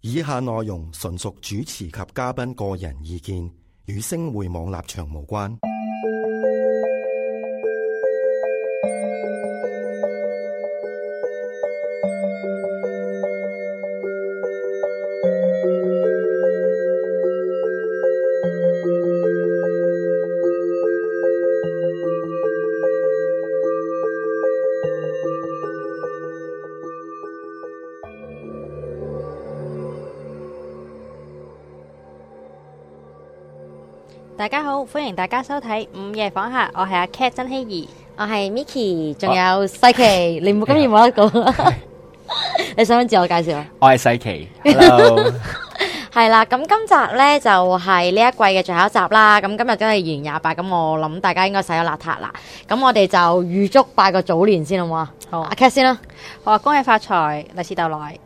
以下內容純屬主持及嘉賓個人意見，與星匯網立場無關。 大家好，歡迎大家收睇午夜訪客，我係阿 Cat 曾希怡， 我係 Micky， 仲有世奇，你唔好今日冇得講。你想唔想自我介紹啊？ 我係世奇 ，Hello， 係啦，咁今集咧就係呢一季嘅最後一集啦。咁今日都係2月28，咁我諗大家應該洗咗邋遢啦。咁我哋就預祝拜個早年先好唔好啊？好，阿 Cat 先啦。 我話恭喜發財，利是逗來。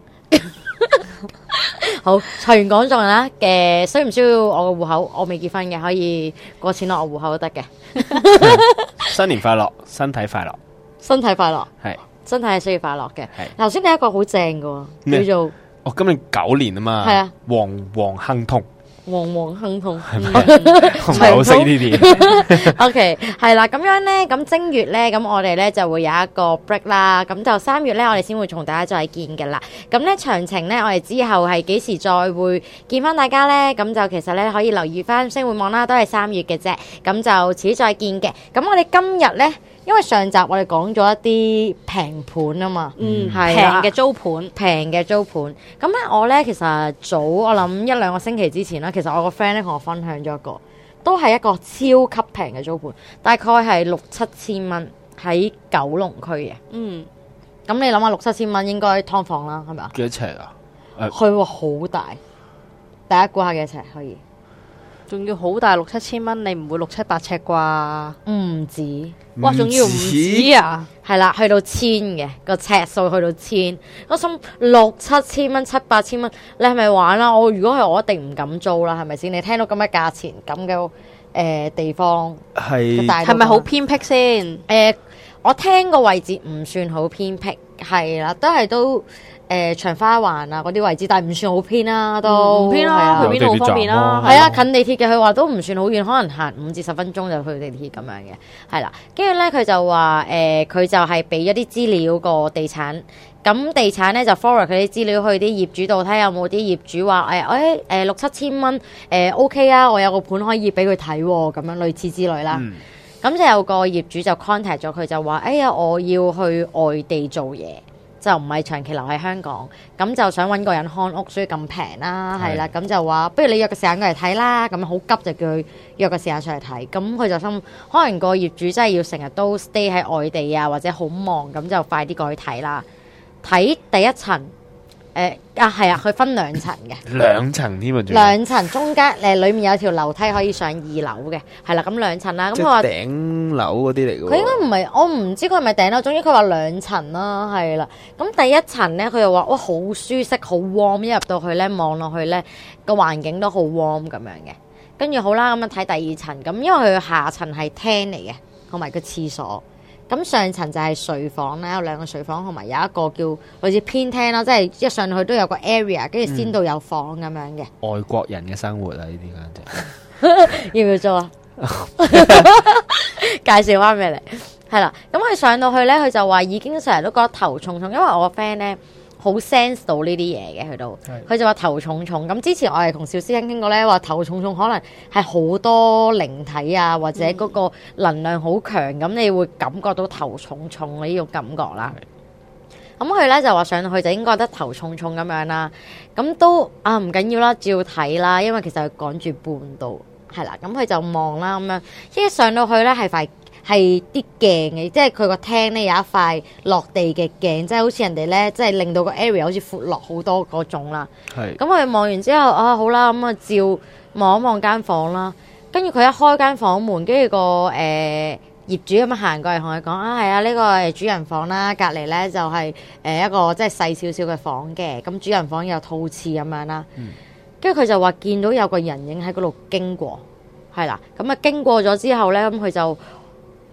好，財源廣進啦。需唔需要我個戶口？我未結婚嘅，可以過錢落我戶口都得嘅。 新年快樂，身體快樂， 身體快樂， 係身體係需要快樂嘅。 係頭先你一個好正嘅，叫做哦，今年9年啊嘛， 係啊， 旺旺亨通， 旺旺亨通， 係咪？唔係好識呢啲。 OK， 係啦，咁樣咧，咁正月咧，咁我哋咧就會有一個 break 啦，咁就3月咧，我哋先會同大家再見嘅啦。咁咧詳情咧，我哋之後係幾時再會見翻大家咧？咁就其實咧可以留意翻星匯網啦，都係3月嘅啫。咁就遲啲再見嘅。咁我哋今日咧，因為上集我哋講咗一啲平盤啊嘛，係平嘅租盤， 平嘅租盤。咁咧我咧其實早我諗1-2個星期之前啦，其實我個 friend 咧同我分享咗一個。都係一個超級平嘅租盤，大概係6-7千蚊喺九龍區嘅。咁你諗下6-7千蚊應該劏房啦，係咪啊？ 幾多尺啊？ 佢話好大，大家估下幾多尺可以？ 仲要好大6-7千蚊，你唔會6-7-8尺啩？ 唔止， 哇！仲要唔止啊？ 係啦，去到1000嘅個尺數，去到1000。我心6-7千蚊、7-8千蚊，你係咪玩啦？我如果係我一定唔敢租啦，係咪先？你聽到咁嘅價錢，咁嘅地方係咪好偏僻先？ 我聽個位置唔算好偏僻，係啦，都長花環啊嗰啲位置，但係唔算好偏啦，都唔偏啦，去邊度好方便啦？ 係啊，近地鐵嘅，佢話都唔算好遠，可能行5至10分鐘就去地鐵咁樣嘅，係啦。跟住咧，佢就話佢就係俾咗啲資料個地產，咁地產咧就 forward 佢啲資料去啲業主度睇下有冇啲業主話6-7千蚊OK 啊，我有個盤可以俾佢睇喎，咁樣類似之類啦。咁就有個業主就 contact 咗佢，就話我要去外地做嘢，就唔係長期留喺香港，咁就想揾個人看屋，所以咁平啦，係啦，咁就話不如你約個時間過嚟睇啦，咁好急就叫佢約個時間上嚟睇，咁佢就心可能個業主真係要成日都 stay 喺外地啊，或者好忙，咁就快啲過去睇啦。睇第一層，係啊，佢分2層嘅 ，2層添啊 ，2層中間裡面有條樓梯可以上2樓嘅，係啦，咁2層啦。咁佢話頂樓嗰啲嚟嘅。 佢應該唔係，我唔知佢係咪頂樓。總之佢話2層啦，係啦。咁第一層咧，佢又話哇好舒適，好 warm， 一入到去咧，望落去咧個環境都好 warm 咁樣嘅。跟住好啦，咁樣睇第2層，咁因為佢下層係廳嚟嘅，同埋個廁所。咁上層就係睡房啦，有2個睡房，同埋有一個叫類似偏廳啦，即係一上去都有個 area， 跟住先到有房咁樣嘅。 外國人嘅生活啊，呢啲簡直要唔要做啊？介紹翻俾你，係啦。咁佢上到去咧，佢就話已經成日都覺得頭重重，因為我個 friend 咧好 sense 到呢啲嘢嘅，佢就話頭重重。咁之前我係同小師兄傾過咧，話頭重重可能係好多靈體啊，或者嗰個能量好強，咁你會感覺到頭重重呢種感覺啦。咁佢咧就話上到去就應該覺得頭重重咁樣啦。咁都唔緊要啦，照睇啦，因為其實佢趕住搬到係啦。咁佢就望啦咁樣，一上到去咧係啲鏡嘅，即係佢個廳咧有一塊落地嘅鏡，即係好似人哋咧，即係令到個 area 好似闊落好多嗰種啦。係。咁佢望完之後好啦，咁照望一望間房啦。跟住佢一開間房門，跟住個業主咁行過嚟同佢講係啊，呢個係主人房啦，隔離咧就係一個即係細少少嘅房嘅。咁主人房有套廁咁樣啦。跟住佢就話見到有個人影喺嗰度經過，係啦。咁經過咗之後咧，咁佢就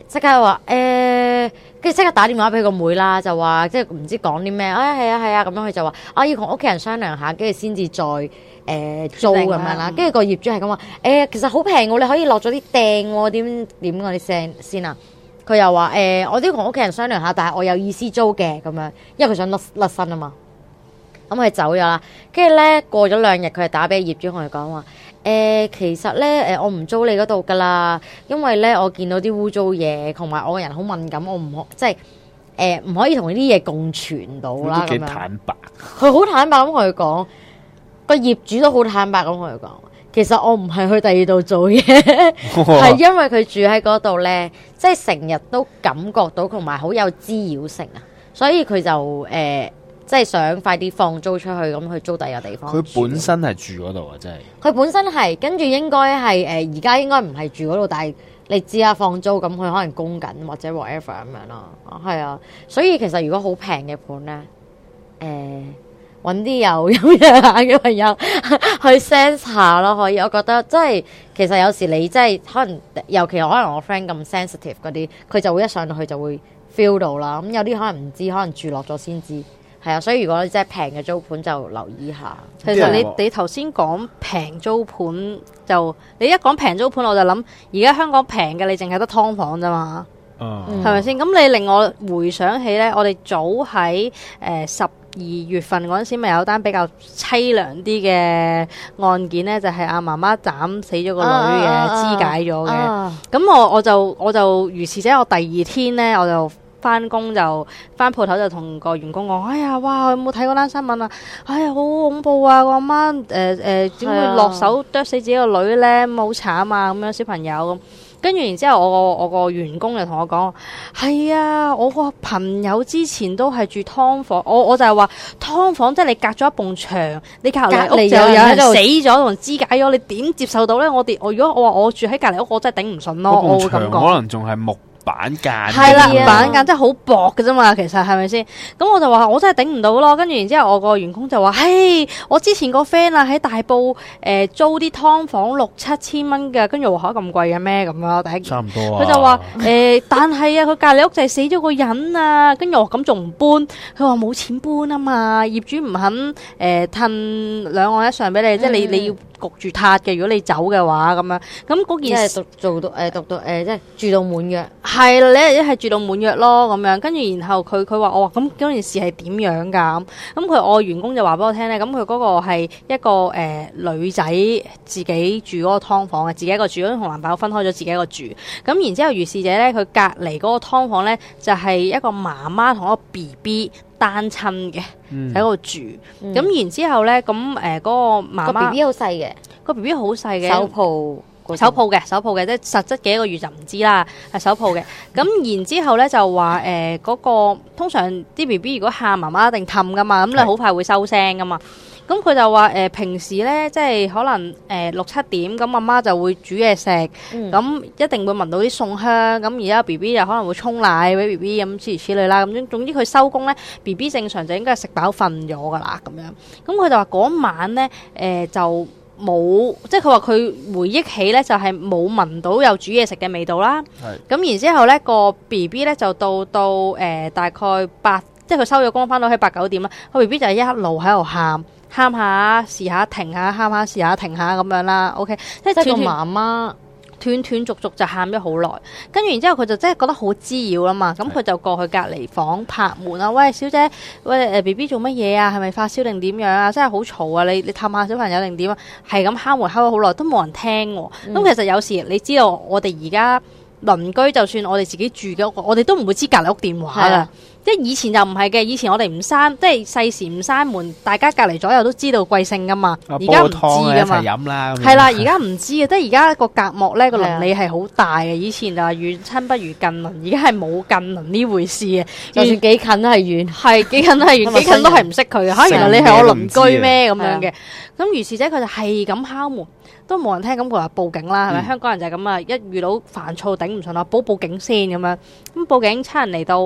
即刻話跟住即刻打電話俾個妹啦，就話即係唔知講啲咩，係啊咁樣，佢就話要同屋企人商量下，跟住先至再租咁樣啦。跟住個業主係咁話其實好平喎，你可以落咗啲訂喎，點嗰啲聲先啊？佢又話我都要同屋企人商量下，但係我有意思租嘅咁樣，因為佢想甩身啊嘛。咁佢走咗啦，跟住咧過咗2日，佢係打俾業主同佢講話其實咧我唔租你嗰度噶啦，因為咧我見到啲污糟嘢，同埋我個人好敏感，我唔可即係唔可以同呢啲嘢共存到啦。咁樣幾坦白， 佢好坦白咁同佢講，個業主都好坦白咁同佢講，其實我唔係去第二度做嘢，係因為佢住喺嗰度咧，即係成日都感覺到同埋好有滋擾性啊，所以佢就即係想快啲放租出去，咁去租第二個地方。 佢本身係住嗰度啊，真係。 佢本身係，跟住應該係而家應該唔係住嗰度，但係你知啊，放租咁佢可能供緊或者 whatever 咁樣咯。係啊，所以其實如果好平嘅盤咧，揾啲有陰陽眼嘅朋友去 sense 下咯，可以。我覺得即係其實有時你即係可能，尤其可能我 friend 咁 sensitive 嗰啲，佢就會一上到去就會 feel 到啦。咁有啲可能唔知，可能住落咗先知。係啊，所以如果你真係平嘅租盤就留意下。 其實你頭先講平租盤，就你一講平租盤，我就諗而家香港平嘅你淨係得劏房啫嘛，係咪先？咁你令我回想起咧，我哋早喺12月份嗰陣時，咪有單比較凄涼啲嘅案件咧，就係阿媽媽斬死咗個女嘅，肢解咗嘅。咁我就如是者，我第二天咧我就翻工就翻鋪頭就同個員工講：哎呀，哇！有冇睇嗰單新聞啊？哎呀，好恐怖啊！個阿媽點會落手剁死自己個女咧？咁好慘啊！咁樣小朋友咁。跟住然之後，我個員工就同我講：係啊，我個朋友之前都係住劏房，我就係話劏房即係你隔咗一埲牆，你隔離屋就有人死咗同肢解咗，你點接受到咧？我如果我話我住喺隔離屋，我真係頂唔順咯。我會咁講， 可能仲係木板間， 係啦，板間真係好薄嘅啫嘛，其實係咪先？咁我就話我真係頂唔到咯。跟住然之後，我個員工就話：嘿，我之前個 friend 啊喺大埔租啲劏房6-7千蚊嘅，跟住我話咁貴嘅咩咁樣？第一差唔多啊。 佢就話但係啊，佢隔離屋就係死咗個人啊，跟住我咁仲唔搬？佢話冇錢搬啊嘛，業主唔肯褪2按1上俾你，即係你要焗住撻嘅。如果你走嘅話咁樣，咁嗰件事做到讀到即係住到滿約。 係啦，你一係住到滿約咯咁樣，跟住然後佢話我話咁嗰件事係點樣㗎？咁我員工就話俾我聽咧，咁佢嗰個係一個女仔自己住嗰個劏房嘅，自己一個住，同男朋友分開咗，自己一個住。咁然之後如是者咧，佢隔離嗰個劏房咧就係一個媽媽同一個 BB 單親嘅喺嗰度住。咁然之後咧，咁嗰個媽媽個 BB 好細嘅， 個 BB 好細嘅， 手抱嘅， 即係實質幾個月就唔知啦，係手抱嘅。咁然之後咧就話嗰個通常啲 B B 如果喊媽媽一定氹噶嘛，咁你好快會收聲噶嘛。咁佢就話平時咧即係可能6-7點咁，阿媽就會煮嘢食，咁一定會聞到啲餸香。咁而家 B B 就可能會沖奶俾 B B 咁諸如此類啦。咁總之佢收工咧 B B 正常就應該係食飽瞓咗噶啦咁樣。咁佢就話嗰晚咧就冇，即係佢話佢回憶起咧就係冇聞到有煮嘢食嘅味道啦。咁然之後咧個 B B 咧就到大概8，即係佢收咗工翻到喺8-9點啦。個 B B 就係一路喺度喊下試下停下，喊下試下停下咁樣啦。OK， 即係個媽媽斷續就喊咗好耐，跟住然之後佢就真係覺得好滋擾啦嘛。咁佢就過去隔離房拍門啊，喂小姐，喂B B 做乜嘢啊？係咪發燒定點樣啊？真係好嘈啊！你氹下小朋友定點啊？係咁敲門敲咗好耐都冇人聽喎。咁其實有時你知道我哋而家鄰居，就算我哋自己住嘅屋，我哋都唔會知隔離屋電話㗎。即係以前就唔係嘅，以前我哋唔閂，即係細時唔閂門，大家隔離左右都知道貴姓噶嘛。而家唔知噶嘛。係啦，而家唔知嘅，即係而家個隔膜咧個鄰里係好大嘅。以前就話遠親不如近鄰，而家係冇近鄰呢回事嘅。就算幾近都係遠，係幾近都係遠，幾近都係唔識佢嘅。原來你係我鄰居咩咁樣嘅？咁如是者佢就係咁敲門，都冇人聽。咁佢話報警啦，係咪？香港人就係咁啊！一遇到煩躁頂唔順啦，報警先咁樣。咁報警，差人嚟到。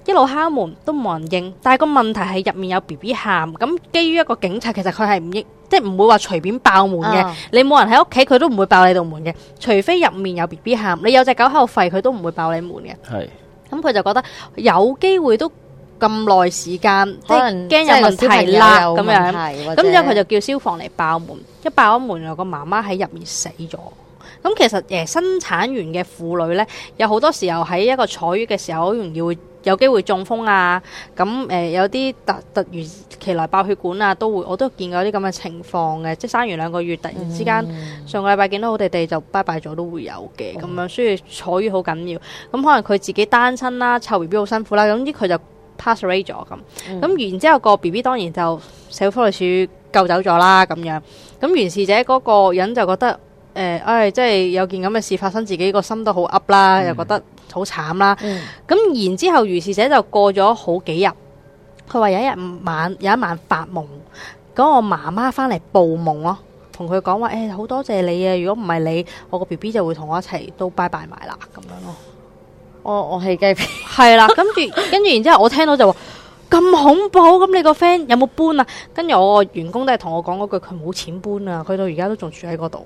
一路敲門都冇人應，但係個問題係入面有 BB 喊，咁基於一個警察，其實佢係唔應，即係唔會話隨便爆門嘅。你冇人喺屋企，佢都唔會爆你道門嘅，除非入面有 BB 喊，你有隻狗喺度吠，佢都唔會爆你門嘅。 係， 咁佢就覺得有機會都咁耐時間，即係可能驚有問題啦咁樣。 樣咁之後佢就叫消防嚟爆門，一爆咗門，有個媽媽喺入面死咗。咁其實生產完嘅婦女咧，有好多時候喺一個坐月嘅時候，好容易會有機會中風啊。咁有啲突如其來爆血管啊，我都見過啲咁嘅情況嘅，即係生完2個月，突然之間上個禮拜見到好地地就拜拜咗，都會有嘅咁樣。所以坐月好緊要。咁可能佢自己單親啦，湊 B B 好辛苦啦。總之佢就 pass away 咗咁。咁然之後個 B B 當然就社會福利署救走咗啦咁樣。咁原事者嗰個人就覺得。即係有件咁嘅事發生，自己個心都好噏啦，又覺得好慘啦。咁然之後，如是者就過咗好幾日，佢話有一晚發夢，嗰個媽媽翻嚟報夢咯，同佢講話好多謝你啊！如果唔係你，我個 B B 就會同我一齊都拜拜埋啦咁樣咯。 我起雞皮， 係啦，跟住然之後我聽到就話咁恐怖，咁你個 friend 有冇搬啊？跟住我個員工都係同我講嗰句，佢冇錢搬啊，佢到而家都仲住喺嗰度。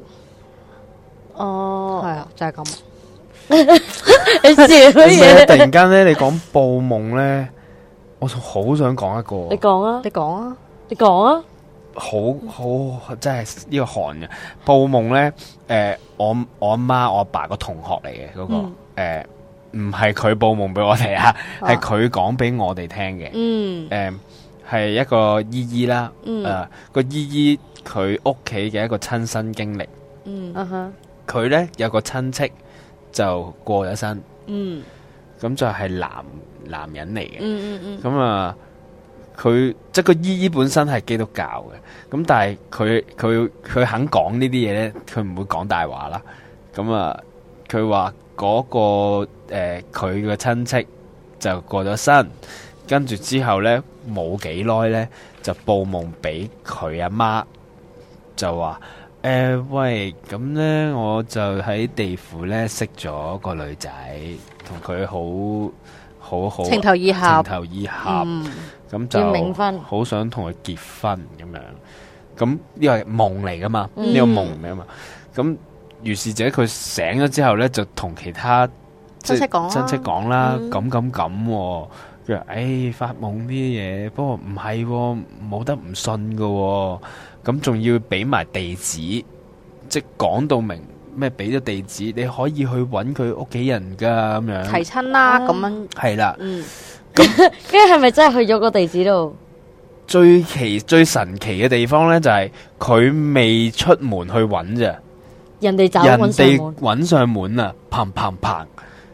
係啊，就係咁。 你笑乜嘢？ 突然間咧，你講報夢咧，我好想講一個。 你講啊！ 你講啊！ 你講啊！ 好真係呢個寒嘅報夢咧。我阿媽我阿爸個同學嚟嘅嗰個唔係佢報夢俾我哋啊，係佢講俾我哋聽嘅。係一個姨姨啦。個姨姨佢屋企嘅一個親身經歷。佢咧有個親戚就過咗身，咁就係男人嚟嘅，咁啊，佢即係個姨姨本身係基督教嘅，咁但係佢肯講呢啲嘢咧，佢唔會講大話啦，咁啊，佢話嗰個佢嘅親戚就過咗身，跟住之後咧冇幾耐咧就報夢俾佢阿媽，就話。喂，咁呢，我就喺地府呢識咗個女仔，同佢好情投意合， 咁就好想同佢結婚咁樣。咁呢個係夢嚟噶嘛？呢個夢嚟啊嘛。咁如是者佢醒咗之後呢，就同其他親戚講啦，咁。佢話發夢呢啲嘢，不過唔係，冇得唔信噶。咁仲要俾埋地址，即係講到明咩？俾咗地址，你可以去揾佢屋企人噶咁樣。 提親啦，咁樣係啦。 咁跟住係咪真係去咗個地址度？ 最神奇嘅地方咧，就係佢未出門去揾咋， 人哋揾上門啊！砰砰砰！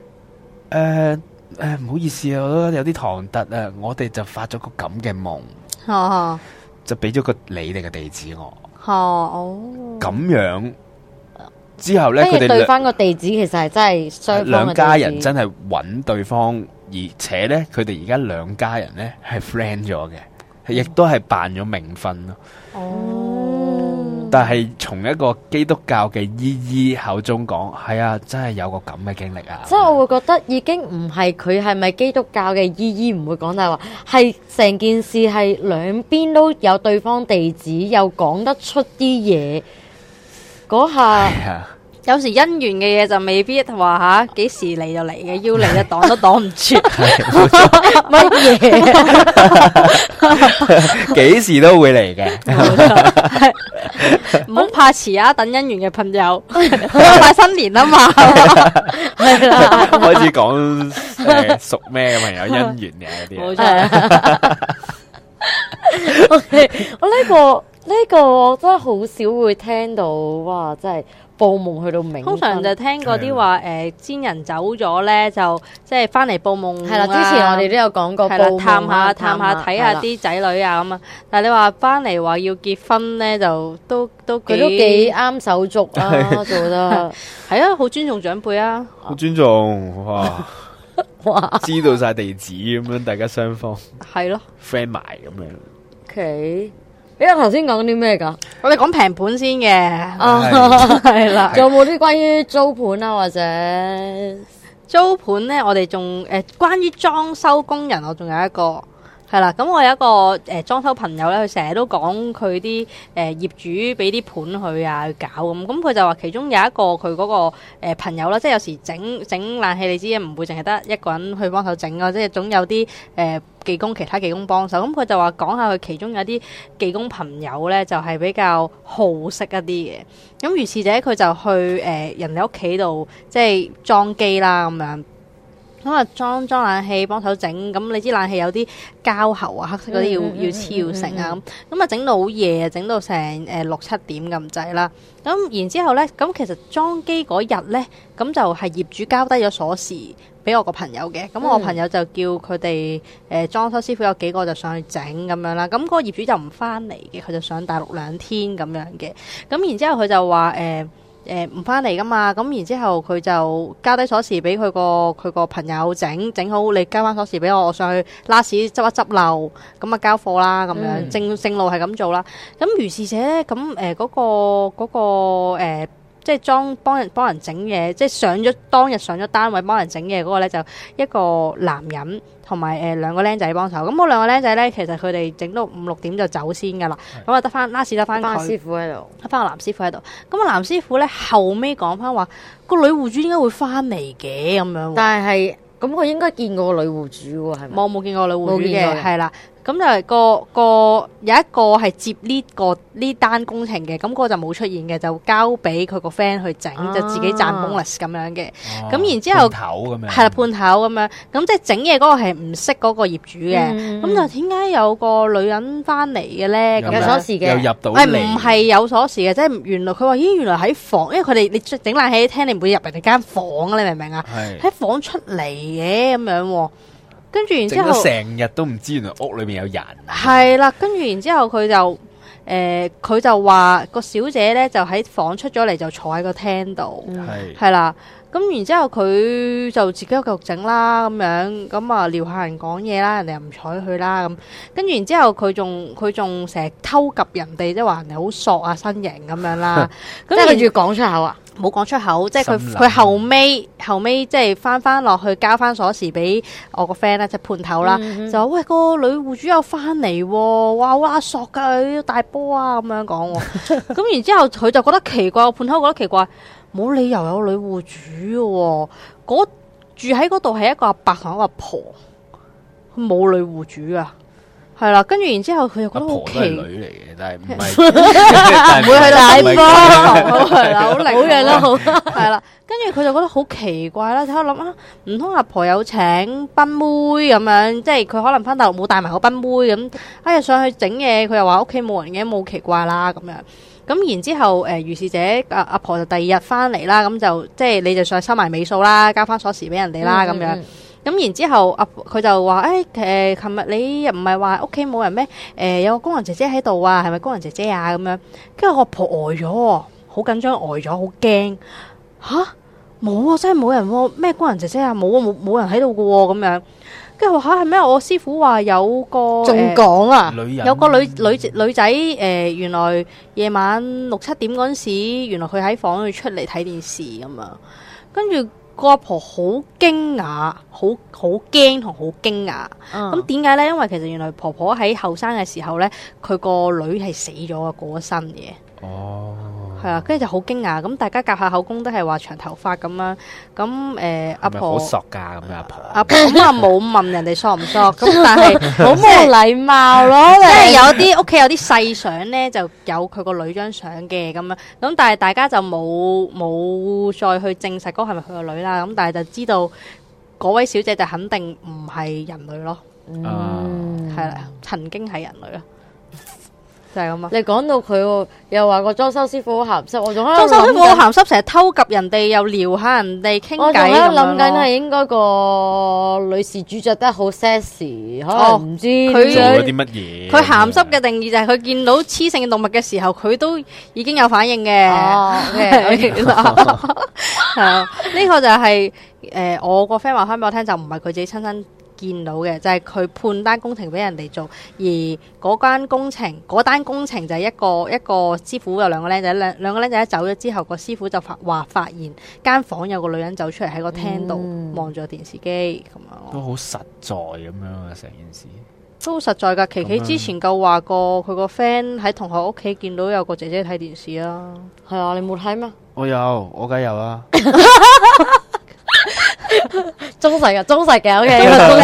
唔好意思啊，我都有啲唐突啊，我哋就發咗個咁嘅夢。就俾咗個你哋嘅地址我，咁樣之後咧，佢哋對翻個地址其實係真係雙方兩家人真係揾對方，而且咧佢哋而家兩家人咧係 friend 咗嘅，亦都係辦咗冥婚咯。但係從一個基督教嘅姨姨口中講，係啊，真係有個咁嘅經歷啊！ 即係我會覺得已經唔係佢係咪基督教嘅姨姨唔會講大話，係成件事係兩邊都有對方地址，又講得出啲嘢嗰下。 有時姻緣嘅嘢就未必話幾時嚟就嚟嘅，要嚟就擋都擋唔住。 乜嘢？幾時都會嚟嘅。 唔好怕遲啊！等姻緣嘅朋友，快新年啊嘛， 係啦， 開始講屬咩嘅朋友姻緣嘅嗰啲。 冇錯。 OK，我呢個真係好少會聽到，哇！真係。報夢去到冥婚， 通常就聽過啲話先人走咗咧，就即係翻嚟報夢。 係啦，之前我哋都有講過， 探下睇下啲仔女啊咁啊。但係你話翻嚟話要結婚咧，就都幾啱手續啊，做得係啊，好尊重長輩啊， 好尊重哇，知道晒地址咁樣，大家雙方係咯 friend 埋咁樣。 OK。你頭先講啲咩噶？ 我哋講平盤先嘅， 係啦。仲有冇啲關於租盤啊，或者租盤咧，我哋仲關於裝修工人，我仲有一個。係啦，咁我有一個裝修朋友咧，佢成日都講佢啲業主俾啲盤佢啊去搞咁，佢就話其中有一個佢嗰個朋友啦，即係有時整冷氣，你知唔會淨係得一個人去幫手整啊，即係總有啲其他技工幫手。咁佢就話講下佢其中有啲技工朋友咧，就係比較好色一啲嘅。咁如是者佢就去人哋屋企度即係裝機啦咁樣。咁啊裝冷氣幫手整，咁你知冷氣有啲膠喉啊，黑色嗰啲要黐要成啊，咁啊整到好夜，整到成6-7點咁滯啦。咁然之後咧，咁其實裝機嗰日咧，咁就係業主交低咗鎖匙俾我個朋友嘅，咁我朋友就叫佢哋裝修師傅有幾個就上去整咁樣啦。咁嗰個業主就唔翻嚟嘅，佢就上大陸2天咁樣嘅。咁然之後佢就話唔翻嚟噶嘛，咁然之後佢就交低鎖匙俾佢個朋友整好，你交翻鎖匙俾我上去拉屎執一執漏，咁啊交貨啦咁樣，正路係咁做啦。咁如是者咧，咁嗰個即係幫人整嘢，即係當日上咗單位幫人整嘢嗰個咧，就一個男人同埋2個僆仔幫手。咁嗰2個僆仔咧，其實佢哋整到5-6點就走先噶啦。咁啊得翻拉屎得翻佢師傅喺度， 得翻個男師傅喺度。咁個男師傅咧後尾講翻話，個女戶主點解會翻嚟嘅咁樣？ 但係咁佢應該見過個女戶主喎，係咪？ 冇見過女戶主嘅，係啦。咁就有一個係接呢單工程嘅，咁個就冇出現嘅，就交俾佢個 friend 去整，就自己賺 bonus 咁樣嘅。咁然之後係啦，判頭咁樣，咁即係整嘢嗰個係唔識嗰個業主嘅。咁就點解有個女人翻嚟嘅咧？ 有鎖匙嘅， 又入到嚟， 唔係有鎖匙嘅，即係原來佢話咦，原來喺房，因為佢哋你整冷氣廳，你唔會入人哋間房啊，你明唔明啊？喺房出嚟嘅咁樣。跟住然之後成日都唔知原來屋裏面有人。 係啦，跟住然之後佢就話個小姐咧就喺房出咗嚟，就坐喺個廳度，係啦。咁然之後佢就自己又繼續整啦，咁樣咁啊撩下人講嘢啦，人哋又唔睬佢啦咁。跟住然之後佢仲成日偷及人哋，即係話人哋好索啊身形咁樣啦。 即係佢要講出口啊？ 冇講出口，即係佢後尾即係翻落去交翻鎖匙俾我個 friend 啦，即係判頭啦，就話喂，個女戶主又翻嚟喎，哇好索㗎，大波啊咁樣講喎。咁然之後佢就覺得奇怪，判頭覺得奇怪，冇理由有女戶主嘅，住喺嗰度係一個阿伯同一個阿婆，冇女戶主啊。係啦，跟住然之後佢又覺得好奇， 女嚟嘅，但係唔係， 唔會去大波，係啦，好嘅啦，好係啦。跟住佢就覺得好奇怪啦，喺度諗啊，唔通阿婆有請賓妹咁樣，即係佢可能翻大陸冇帶埋個賓妹咁，哎呀上去整嘢，佢又話屋企冇人嘅，冇奇怪啦咁樣。咁然之後如是者阿婆就第2日翻嚟啦，咁就即係你就上去收埋尾數啦，交翻鎖匙俾人哋啦咁樣。咁然之後，佢就話：琴日你唔係話屋企冇人咩？有個工人姐姐喺度啊，係咪工人姐姐啊？咁樣，跟住我婆呆咗，好緊張，呆咗，好驚吓，冇啊，真係冇人喎！咩工人姐姐啊？冇啊，冇人喺度嘅喎，咁樣。跟住話嚇係咩？我師傅話有個仲講啊， 有個女仔原來夜晚6-7點嗰陣時，原來佢喺房度出嚟睇電視咁啊，跟住。個阿婆好驚訝，好驚同好驚訝。咁點解咧？因為其實原來婆婆喺後生嘅時候咧，佢個女係死咗啊，過咗身嘅。哦，係啊，跟住就好驚訝。咁大家夾下口供都係話長頭髮咁啦。咁阿婆好索㗎咁樣， 阿婆咁啊冇問人哋索唔索，咁但係好冇禮貌咯。 即係有啲屋企有啲細相咧，就有佢個女張相嘅咁樣。咁但係大家就冇再去證實嗰係咪佢個女啦。咁但係就知道嗰位小姐就肯定唔係人類咯。係啦，曾經係人類咯。就係咁啊！ 你講到佢又話個裝修師傅好鹹濕，我仲裝修師傅好鹹濕，成日偷及人哋，又撩下人哋傾偈。我仲喺度諗緊係應該個女事主着得好 sexy，可能唔知佢做咗啲乜嘢。 佢鹹濕嘅定義就係佢見到雌性嘅動物嘅時候，佢都已經有反應嘅。係啊，呢個就係我個 friend 話翻俾我聽，就唔係佢自己親身見到嘅，就係佢判單工程俾人哋做，而嗰單工程就係一個師傅有兩個僆仔，兩個僆仔一走咗之後，個師傅就發現間房有個女人走出嚟喺個廳度望住電視機咁樣。 都好實在咁樣啊！成件事都實在㗎。琪琪之前夠話過，佢個 friend 喺同學屋企見到有個姐姐睇電視啊。 係啊，你冇睇咩？ 我有，我梗有啦。 忠實嘅，OK。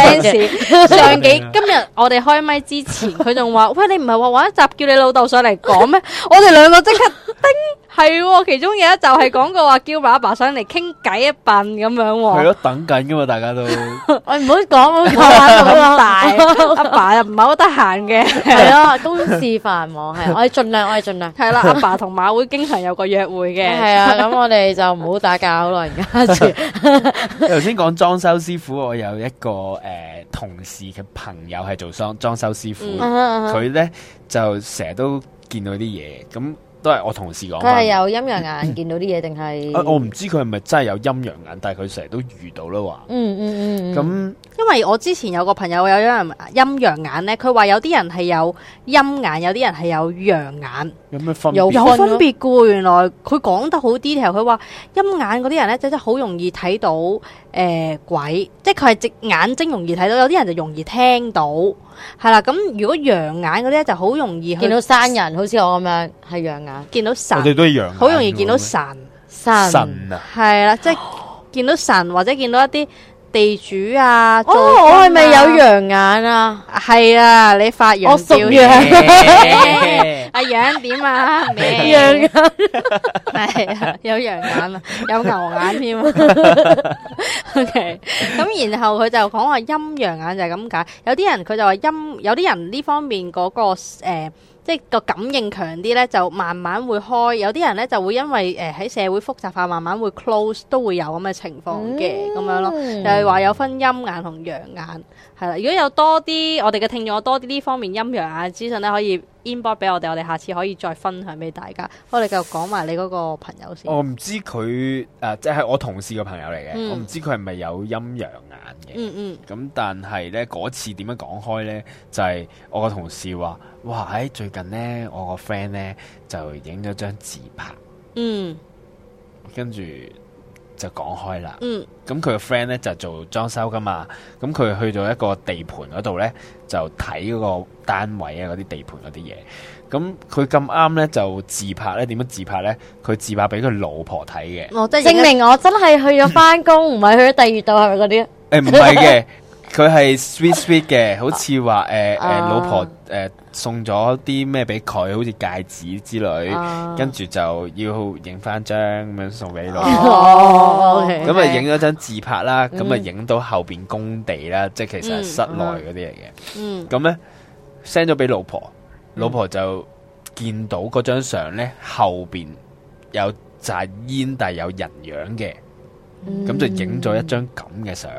今日我哋開麥之前，佢仲話：喂，你唔係話玩一集叫你老豆上嚟講咩？我哋兩個即刻叮，係喎。其中有一集係講過話叫爸爸上嚟傾偈一笨咁樣喎。 係咯，等緊噶嘛，大家都。 我唔好講咁大， 阿爸又唔係好得閒嘅。 係咯，公事繁忙，係我哋盡量。 係啦，阿爸同馬會經常有個約會嘅。 係啊，咁我哋就唔好打攪老人家住。 頭先講裝修師傅，我有一個同事嘅朋友係做裝修師傅，佢咧就成日都見到啲嘢，咁都係我同事講。 佢係有陰陽眼見到啲嘢定係？ 我唔知佢係咪真係有陰陽眼，但係佢成日都遇到啦話。咁因為我之前有個朋友有陰陽眼咧，佢話有啲人係有陰眼，有啲人係有陽眼。 有咩分別？ 有分別嘅喎，原來佢講得好 detail。佢話陰眼嗰啲人咧，真係好容易睇到鬼，即係佢係隻眼睛容易睇到，有啲人就容易聽到，係啦。咁如果陽眼嗰啲咧，就好容易見到山人，好似我咁樣係陽眼， 見到神。 我哋都係陽眼， 好容易見到神啊， 係啦，即係見到神或者見到一啲地主啊。 我係咪有陽眼啊？ 係啊，你發陽照陽。 阿陽點啊？ 陽眼係啊，有陽眼啊，有牛眼添。OK， 咁然後佢就講話陰陽眼就係咁解。有啲人佢就話有啲人呢方面嗰個即係個感應強啲咧，就慢慢會開；有啲人咧就會因為喺社會複雜化，慢慢會 close，都會有咁嘅情況嘅咁樣咯。就係話有分陰眼同陽眼，係啦。如果有多啲我哋嘅聽眾有多啲呢方面陰陽眼嘅資訊咧，可以 inbox 俾我哋下次可以再分享俾大家。我哋繼續講埋你嗰個朋友先。 我唔知佢即係我同事個朋友嚟嘅，我唔知佢係咪有陰陽眼嘅。咁但係咧嗰次點樣講開咧，就係我個同事話：哇！最近咧我個 friend 咧就影咗張自拍，跟住就講開啦。咁佢個 friend 咧就做裝修噶嘛，咁佢去到一個地盤嗰度咧就睇嗰個單位啊，嗰啲地盤嗰啲嘢。咁佢咁啱咧就自拍咧，點樣自拍咧？佢自拍俾佢老婆睇嘅， 證明我真係去咗翻工，唔係去咗第二度，係咪嗰啲？ 唔係嘅，佢係 sweet 嘅，好似話老婆送咗啲咩俾佢，好似戒指之類，跟住就要影翻張咁樣送俾老婆。咁啊影咗張自拍啦，咁啊影到後邊工地啦，即係其實係室內嗰啲嚟嘅。咁咧 send 咗俾老婆，老婆就見到嗰張相咧後邊有扎煙，但係有人樣嘅。咁就影咗一張咁嘅相，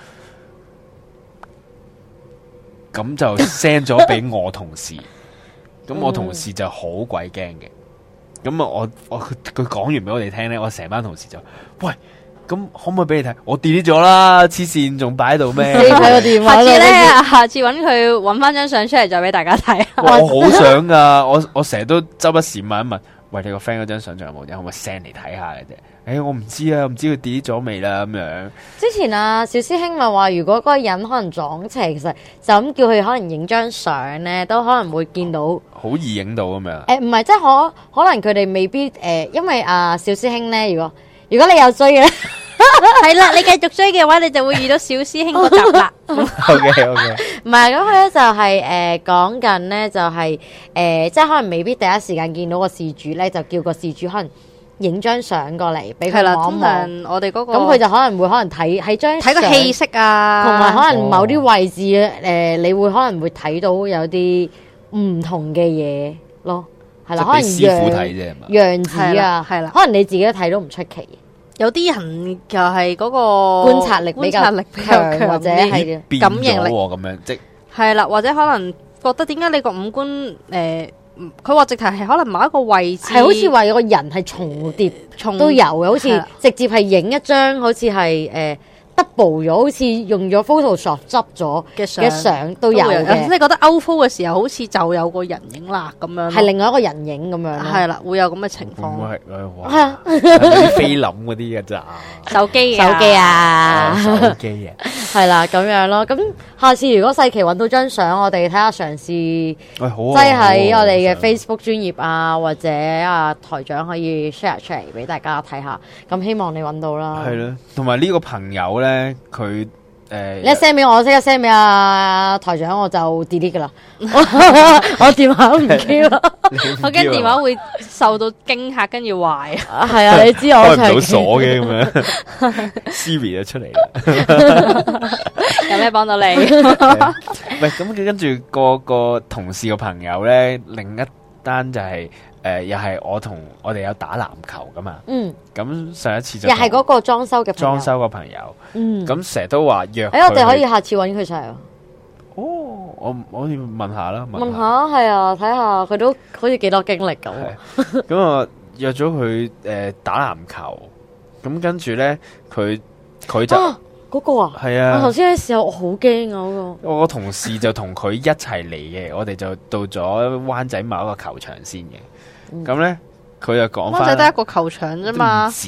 咁就 send 咗俾我同事，咁我同事就好鬼驚嘅。咁啊，佢講完俾我哋聽咧，我成班同事就喂，咁可唔可以俾你睇？我 delete 咗啦，黐線仲擺喺度咩？ 你睇個電話， 下次揾佢揾翻張相出嚟再俾大家睇。 我好想噶，我成日都周不時問一問，喂，你個 friend 嗰張相仲有冇？可唔可以 send 嚟睇下嘅啫？我唔知啊，唔知佢 delete 咗未啦咁樣。之前小師兄咪話，如果嗰個人可能撞邪，其實就咁叫佢可能影張相咧，都可能會見到。 好易影到咁樣。 唔係，即係可能佢哋未必因為小師兄咧，如果你有追嘅咧， 係啦，你繼續追嘅話，你就會遇到小師兄嗰集啦。 OK。 唔係，咁佢咧就係講緊咧，就係即係可能未必第一時間見到個事主咧，就叫個事主可能影張相過嚟俾佢望一望。我哋嗰個咁佢就可能會睇喺張睇個氣息啊， 同埋可能某啲位置你會可能會睇到有啲唔同嘅嘢咯，係啦，可能師傅睇啫嘛， 樣子啊，係啦，可能你自己都睇到唔出奇。 有啲人就係嗰個觀察力比較強，或者係感應力咁樣，即係啦，或者可能覺得點解你個五官佢話直頭係可能某一個位置係好似話有個人係重疊都有嘅，好似直接係影一張好似係 double 咗，好似用咗 Photoshop 執咗嘅相都有嘅。 即係覺得 outfo 嘅時候，好似就有個人影啦咁樣， 係另外一個人影咁樣咯。 係啦，會有咁嘅情況。 係啊， 啲菲林嗰啲嘅咋？ 手機手機啊， 手機啊， 係啦咁樣咯。咁下次如果世奇揾到張相，我哋睇下嘗試好擠喺我哋嘅 Facebook 專頁啊，或者啊台長可以 share 出嚟俾大家睇下。咁希望你揾到啦。 係咯，同埋呢個朋友咧，佢你一 send 俾我，即刻 send 俾阿台長，我就 delete 噶啦。我電話都唔 Q 啦。 我驚電話會受到驚嚇，跟住壞。 係啊，你知我開唔到鎖嘅咁樣，Siri 就出嚟啦。 有咩幫到你？ 喂，咁跟住個同事個朋友咧，另一單就係又係我哋有打籃球噶嘛。 嗯。 咁上一次就又係嗰個裝修嘅裝修個朋友。 嗯。 咁成日都話約。 我哋可以下次揾佢上嚟。 哦，我可以問下啦。 問下係啊，睇下佢都好似幾多經歷咁。 咁我約咗佢打籃球，咁跟住咧佢就嗰個啊，係啊。我頭先嘅時候我好驚啊嗰個。 我個同事就同佢一齊嚟嘅，我哋就到咗灣仔某一個球場先嘅。咁咧佢就講翻， 灣仔得一個球場啫嘛， 唔止，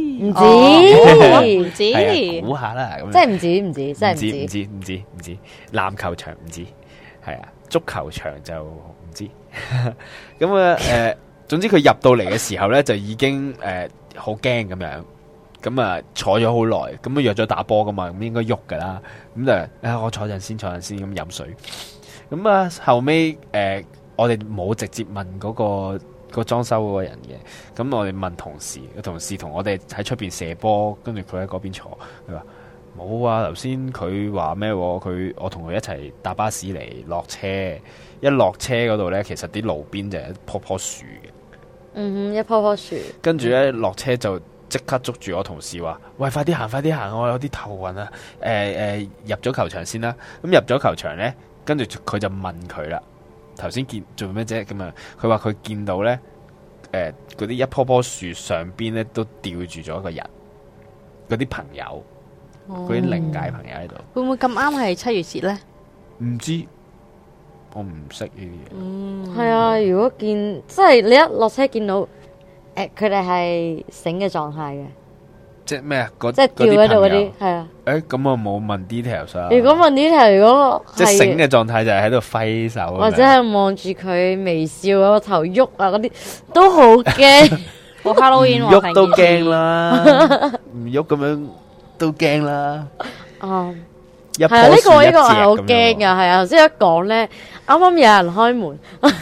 估下啦，咁即係唔止，真係唔止，籃球場唔止，係啊，足球場就唔知。咁總之佢入到嚟嘅時候咧，就已經好驚咁樣。咁啊坐咗好耐，咁啊約咗打波噶嘛，咁應該喐噶啦。咁就我坐陣先咁飲水。咁啊後尾我哋冇直接問嗰個裝修嗰個人嘅，咁我哋問同事，個同事同我哋喺出邊射波，跟住佢喺嗰邊坐。佢話冇啊，頭先佢話咩？我同佢一齊搭巴士嚟落車，一落車嗰度咧，其實啲路邊就係一棵樹嘅。 嗯哼，一棵樹。跟住咧落車就即刻捉住我同事話：喂，快啲行！我有啲頭暈啊！入咗球場先啦。咁入咗球場咧，跟住佢就問佢啦。頭先見做咩啫？咁啊，佢話佢見到咧，嗰啲一棵樹上邊咧都吊住咗一個人，嗰啲朋友，嗰啲靈界朋友喺度。 會唔會咁啱係7月節咧？ 唔知，我唔識呢啲嘢。 係啊，如果即係你一落車見到，佢哋係醒嘅狀態嘅。 即係咩啊？即係吊喺度嗰啲，係啊。 咁我冇問 details 啊。 如果問 details，如果即係醒嘅狀態就係喺度揮手， 或者係望住佢微笑，個頭喐啊嗰啲，都好驚。 好 Halloween 喎，喐都驚啦，唔喐咁樣都驚啦。係啊，呢個係好驚噶，係啊。頭先一講咧，啱啱有人開門，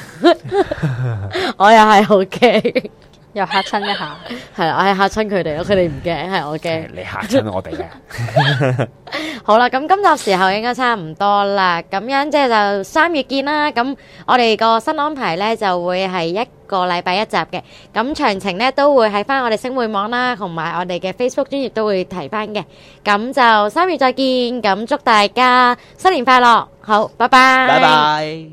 我又係好驚。 又嚇親一下， 係啦，我係嚇親佢哋咯，佢哋唔驚，係我驚。 你嚇親我哋嘅。 好啦，咁今集時候應該差唔多啦，咁樣即係就3月見啦。咁我哋個新安排呢就會係一個禮拜1集嘅，咁詳情呢都會喺翻我哋星匯網啦，同埋我哋嘅 Facebook 專頁都會提翻嘅。咁就3月再見，咁祝大家新年快樂，好，拜拜， 拜拜。